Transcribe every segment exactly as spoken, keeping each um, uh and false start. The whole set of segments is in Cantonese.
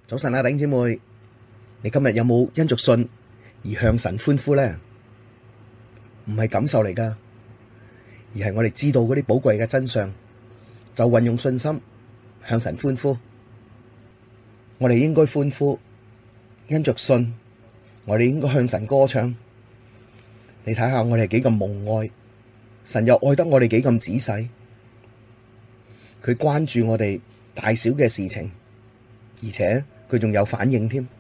早晨啊，弟兄姊妹，你今日有冇因着信而向神歡呼呢？唔係感受嚟噶，而係我哋知道嗰啲寶貴嘅真相，就運用信心向神歡呼。我哋應該歡呼，因着信，我哋應該向神歌唱。你睇下我哋係幾咁蒙愛，神又愛得我哋幾咁仔細，佢關注我哋大小嘅事情，而且佢仲有反應添。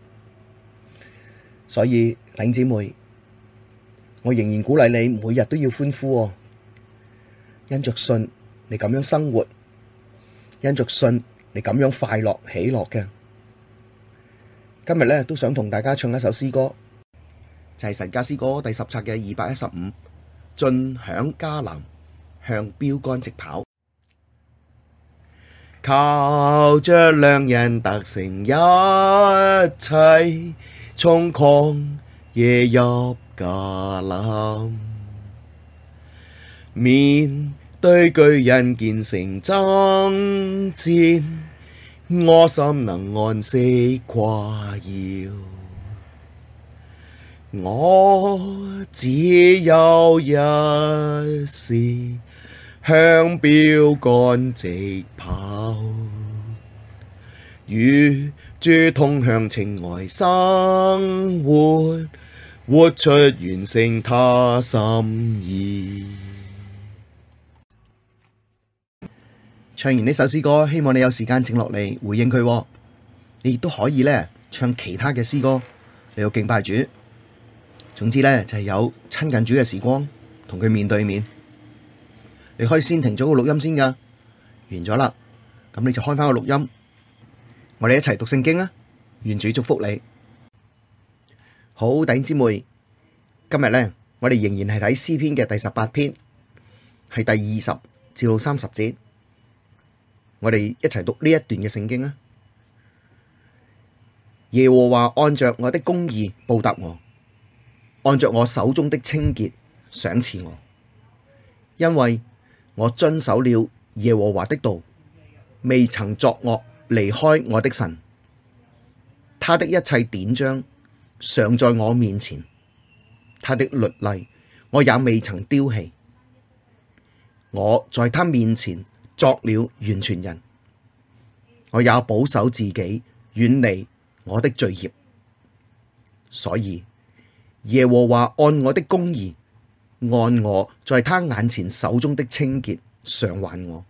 所以弟兄姊妹，我仍然鼓勵你每日都要歡呼哦。因着信你咁樣生活，因着信你咁樣快樂喜樂嘅。今日咧都想同大家唱一首詩歌，就係神家詩歌第十冊嘅二百一十五，進享迦南，向標竿直跑。靠着良人得勝一切，從曠野入迦南，面對巨人堅城爭戰，我心能安息誇耀。我只有一事，向標竿直跑，與主同享情愛生活，活出完成他心意。唱完呢首詩歌，希望你有時間靜落嚟回應佢。你亦都可以咧唱其他嘅詩歌嚟到敬拜主。總之咧就係有親近主嘅時光，同佢面對面。你可以先停咗個錄音先噶，完咗啦，咁你就開翻個錄音，我哋一齊讀聖經啊！願主祝福你。好，弟兄姊妹，今日咧我哋仍然係睇詩篇嘅第十八篇，係第二十至到三十節，我哋一齊讀呢一段嘅聖經啊！耶和華按着我的公義報答我，按着我手中的清潔賞賜我，因為我遵守了耶和華的道，未曾作惡離開我的神。他的一切典章常在我面前，他的律例我也未曾丟棄。我在他面前作了完全人，我也保守自己，遠離我的罪孽。所以耶和華按我的公義，按我在他眼前手中的清潔償還我。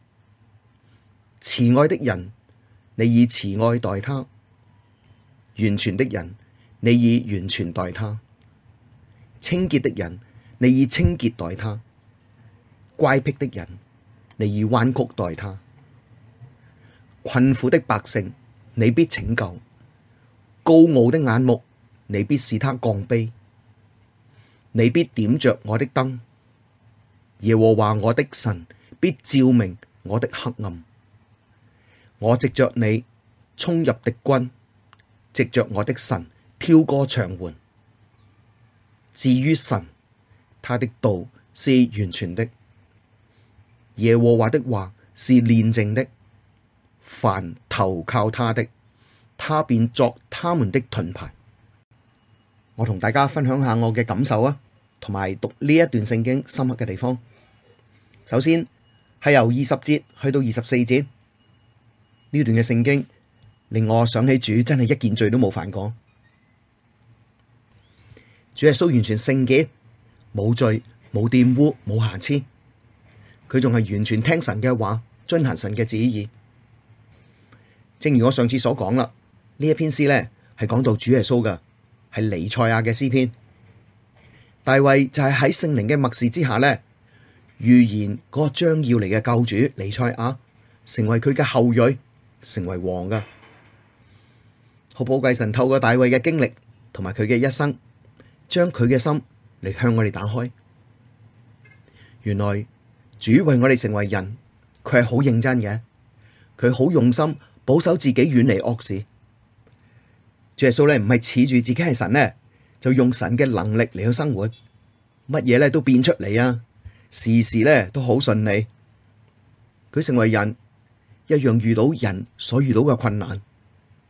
慈愛的人，你以慈愛待他；完全的人，你以完全待他；清潔的人，你以清潔待他；乖僻的人，你以彎曲待他。困苦的百姓，你必拯救；高傲的眼目，你必使他降卑。你必點着我的燈，耶和華我的神必照明我的黑暗。我藉着你衝入敵軍，藉着我的神跳過牆垣。至於神，他的道是完全的，耶和華的話是煉淨的。凡投靠他的，他便作他們的盾牌。我同大家分享下我嘅感受啊，同埋讀呢一段聖經深刻嘅地方。首先係由二十節去到二十四節，呢段嘅聖經令我想起主真係一件罪都冇犯過。主耶穌完全聖潔，冇罪，冇玷污，冇瑕疵。佢仲係完全聽神嘅話，遵行神嘅旨意。正如我上次所講啦，呢一篇詩咧係講到主耶穌噶，係彌賽亞嘅詩篇。大衛就係喺聖靈嘅默示之下咧，預言嗰個將要嚟嘅救主彌賽亞，成為佢嘅後裔，成為王噶。好寶貴，神透過大衛嘅經歷同埋佢嘅一生，將佢嘅心嚟向我哋打開。原來主為我哋成為人，佢係好認真嘅，佢好用心保守自己遠離惡事。主耶穌咧唔係恃住自己係神咧，就用神嘅能力嚟去生活，乜嘢咧都變出嚟啊！事事咧都好順利。佢成為人，一樣遇到人所遇到嘅困難，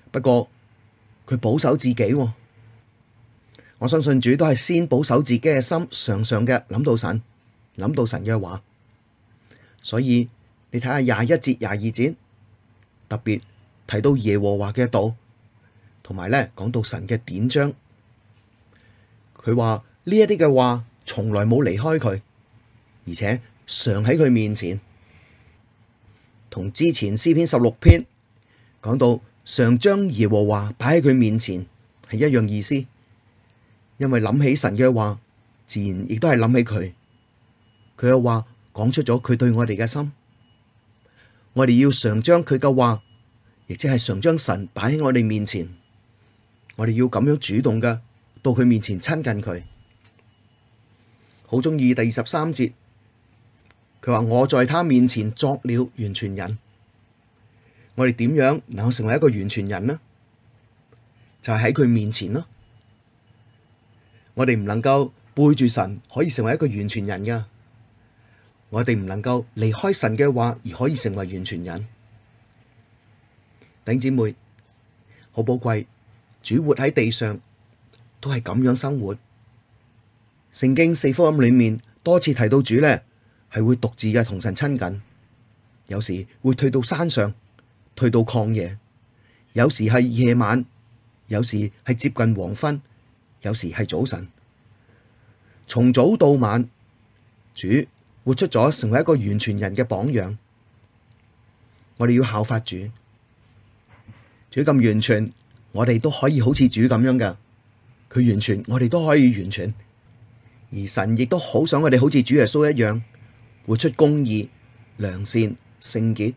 不過佢保守自己喎。我相信主都係先保守自己嘅心，常常嘅諗到神，諗到神嘅話。所以你睇下廿一節、廿二節，特別提到耶和華嘅道，同埋咧講到神嘅典章。佢話呢一啲嘅話從來冇離開佢，而且常喺佢面前。同之前詩篇十六篇講到常將耶和華擺喺佢面前係一樣意思，因為諗起神嘅話，自然亦都係諗起佢。佢嘅話講出咗佢對我哋嘅心，我哋要常將佢嘅話，亦即係常將神擺喺我哋面前。我哋要咁樣主動嘅到佢面前親近佢。好鍾意第二十三節。佢話我在他面前作了完全人。我哋點樣能夠成為一個完全人呢？就係喺佢面前咯。我哋唔能夠背住神可以成為一個完全人噶。我哋唔能夠離開神嘅話而可以成為完全人。弟兄姊妹，好寶貴，主活喺地上都係咁樣生活。聖經四福音裏面多次提到主咧，係會獨自嘅同神親近，有時會退到山上，退到曠野，有時係夜晚，有時係接近黃昏，有時係早晨。從早到晚，主活出咗成為一個完全人嘅榜樣。我哋要效法主，主咁完全，我哋都可以好似主咁樣㗎。佢完全，我哋都可以完全。而神亦都好想我哋好似主耶穌一樣，活出公義、良善、聖潔。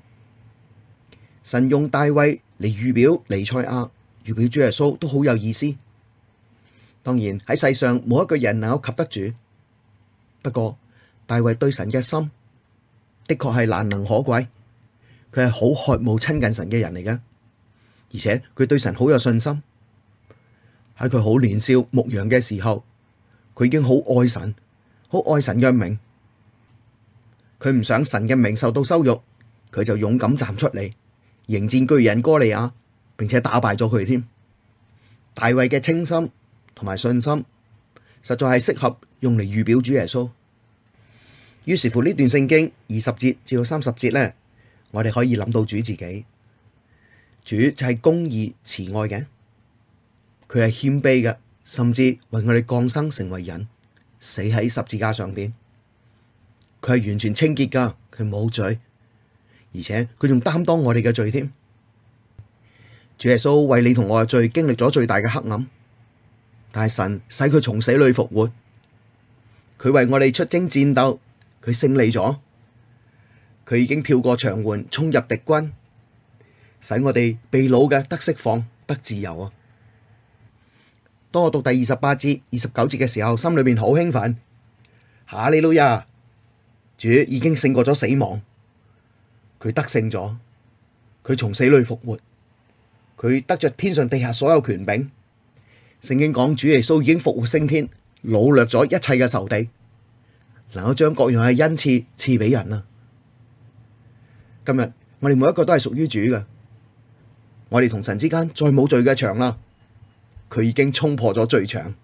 神用大衛嚟預表彌賽亞，預表主耶穌都好有意思。當然喺世上冇一個人能夠及得主，不過大衛對神嘅心的確係難能可貴，佢係好渴慕親近神嘅人嚟嘅，而且佢對神好有信心。喺佢好年少牧羊嘅時候，佢已經好愛神，好愛神嘅名。佢唔想神嘅名受到羞辱，佢就勇敢站出嚟迎戰巨人歌利亞，並且打敗咗佢添。大衛嘅清心同埋信心，實在係適合用嚟預表主耶穌。於是乎呢段聖經二十節至到三十節呢，我哋可以諗到主自己，主就係公義慈愛嘅，佢係謙卑嘅，甚至為我哋降生成為人，死喺十字架上邊。佢係完全清潔噶，佢冇罪，而且佢仲擔當我哋嘅罪添。主耶穌為你同我嘅罪經歷咗最大嘅黑暗，但係神使佢從死裏復活，佢為我哋出征戰鬥，佢勝利咗，佢已經跳過牆垣衝入敵軍，使我哋被擄嘅得釋放得自由啊！當我讀第二十八節、二十九節嘅時候，心裏邊好興奮，哈利路亞！主已經勝過咗死亡，佢得勝咗，佢從死裏復活，佢得着天上地下所有權柄。聖經講主耶穌已經復活升天，擄掠咗一切嘅仇敵，能夠將各樣嘅恩賜賜俾人啊！今日我哋每一個都係屬於主嘅，我哋同神之間再冇罪嘅牆啦，佢已經衝破咗罪牆，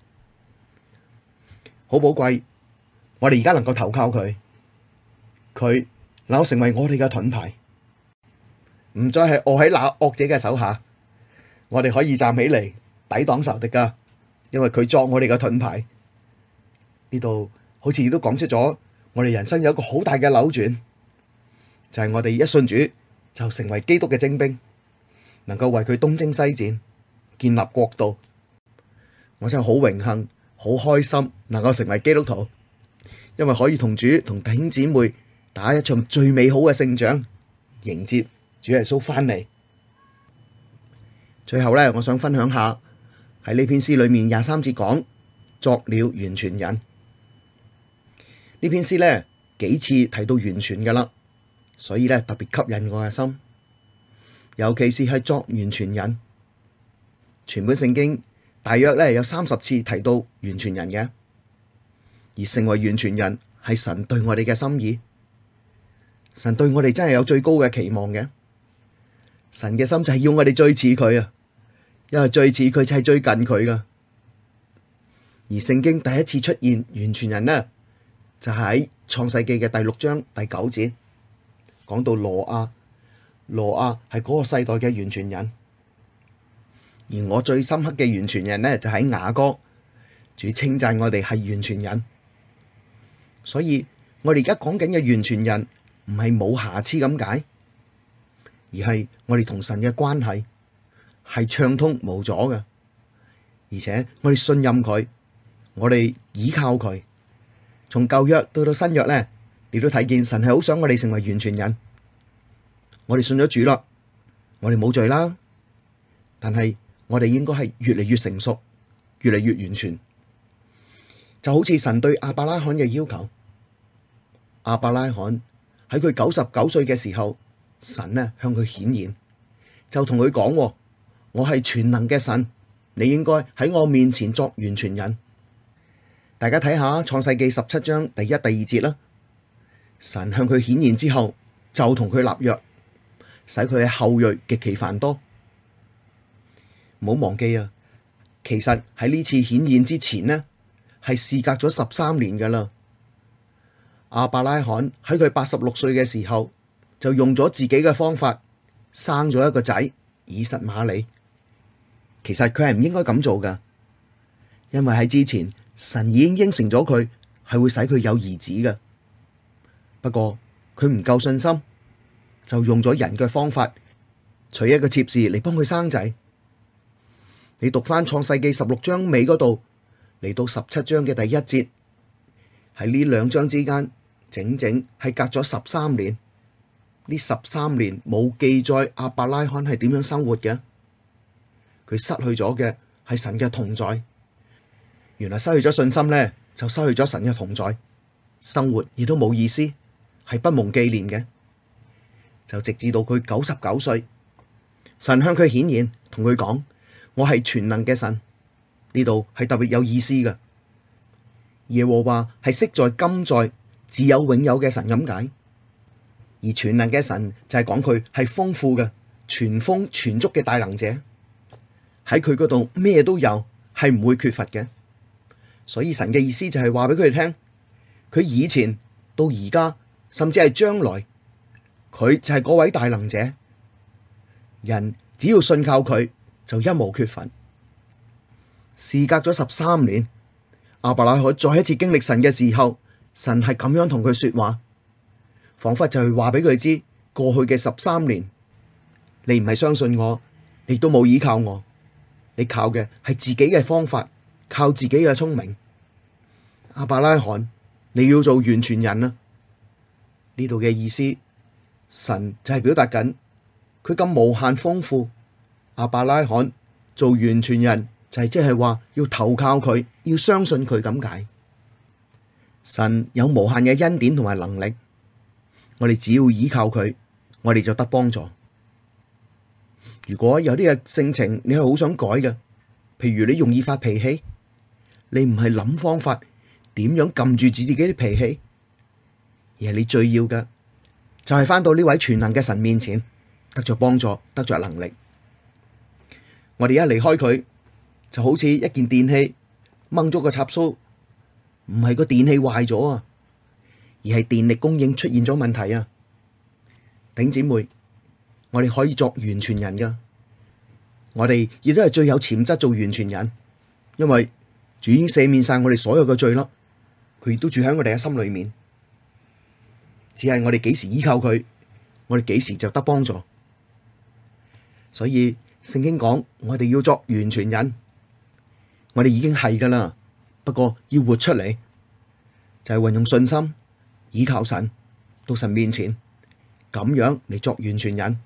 好寶貴。我哋而家能夠投靠佢。佢能夠成為我哋嘅盾牌，唔再係臥喺那惡者嘅手下，我哋可以站起嚟抵擋仇敵噶，因為佢作我哋嘅盾牌。呢度好似亦都講出咗我哋人生有一個好大嘅扭轉，就係我哋一信主就成為基督嘅精兵，能夠為佢東征西戰，建立國度。我真係好榮幸、好開心，能夠成為基督徒，因為可以同主同弟兄姊妹打一場最美好嘅勝仗，迎接主耶穌翻嚟。最後咧，我想分享下喺呢篇詩裏面廿三節講作了完全人。呢篇詩咧幾次提到完全噶啦，所以咧特別吸引我嘅心，尤其是係作完全人。全本聖經大約咧有三十次提到完全人嘅，而成為完全人係神對我哋嘅心意。神對我哋真係有最高嘅期望嘅， 神嘅心就係要我哋最似佢啊，因為最似佢就係最近佢噶。而聖經第一次出現完全人呢，就喺創世記嘅第六章第九節，講到挪亞，挪亞係嗰個世代嘅完全人。而我最深刻嘅完全人呢，就喺雅歌，主稱讚我哋係完全人。所以我哋而家講緊嘅完全人，唔係冇瑕疵咁解，而係我哋同神嘅關係係暢通無阻嘅，而且我哋信任佢，我哋倚靠佢。從舊約到到新約咧，你都睇見神係好想我哋成為完全人。我哋信咗主啦，我哋冇罪啦，但係我哋應該係越嚟越成熟，越嚟越完全。就好似神對亞伯拉罕嘅要求，亞伯拉罕喺佢九十九歲嘅時候，神呢向佢顯現，就同佢講：我係全能嘅神，你應該喺我面前作完全人。大家睇下創世記十七章第一、第二節啦。神向佢顯現之後，就同佢立約，使佢嘅後裔極其繁多。唔好忘記啊，其實喺呢次顯現之前呢，係事隔咗十三年噶啦。亞伯拉罕喺佢八十六歲嘅時候，就用咗自己嘅方法生咗一個仔以實瑪利。其實佢係唔應該咁做噶，因為喺之前神已經應承咗佢係會使佢有兒子嘅。不過佢唔夠信心，就用咗人嘅方法，娶一個妾侍嚟幫佢生仔。你讀翻創世記十六章尾嗰度，嚟到十七章嘅第一節，喺呢兩章之間，整整係隔咗十三年。呢十三年冇記載亞伯拉罕係點樣生活嘅，佢失去咗嘅係神嘅同在。原來失去咗信心咧，就失去咗神嘅同在，生活亦都冇意思，係不蒙紀念嘅。就直至到佢九十九歲，神向佢顯現，同佢講：我係全能嘅神。呢度係特別有意思嘅。耶和華係昔在今在自有永有嘅神咁解，而全能嘅神就係講佢係豐富嘅、全豐全足嘅大能者，喺佢嗰度咩都有，係唔會缺乏嘅。所以神嘅意思就係話俾佢哋聽，佢以前到而家，甚至係將來，佢就係嗰位大能者。人只要信靠佢，就一無缺乏。事隔咗十三年，亞伯拉罕再一次經歷神嘅時候，神係咁樣同佢說話，仿佛就係話俾佢知，過去嘅十三年，你唔係相信我，你都冇依靠我，你靠嘅係自己嘅方法，靠自己嘅聰明。亞伯拉罕，你要做完全人啊！呢度嘅意思，神就係表達緊佢咁無限豐富。亞伯拉罕做完全人，就係即係話要投靠佢，要相信佢咁解。神有無限嘅恩典同埋能力，我哋只要依靠佢，我哋就得幫助。如果有啲嘅性情你係好想改嘅，譬如你容易發脾氣，你唔係諗方法點樣撳住自己啲脾氣，而係你最要嘅就係返到呢位全能嘅神面前，得着幫助，得着能力。我哋一離開佢，就好似一件電器掹咗個插蘇，唔係個電器壞咗啊，而係電力供應出現咗問題啊。頂姊妹，我哋可以作完全人噶，我哋亦都係最有潛質做完全人，因為主已經赦免晒我哋所有嘅罪啦，佢亦都住喺我哋嘅心裏面，只係我哋幾時依靠佢，我哋幾時就得幫助。所以聖經講我哋要作完全人，我哋已經係噶啦，不過要活出嚟，就係運用信心倚靠神，到神面前咁樣嚟作完全人。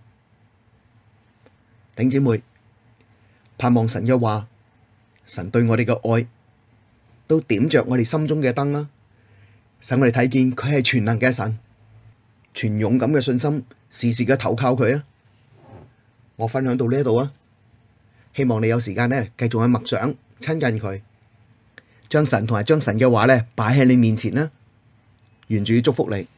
弟兄姊妹，盼望神嘅話，神對我哋嘅愛都點着我哋心中嘅燈啦，使我哋睇見佢係全能嘅神，全勇敢嘅信心，時時嘅投靠佢啊！我分享到呢度啊，希望你有時間呢繼續去默想親近佢，將神同埋將神嘅話呢擺喺你面前啦，願主祝福你。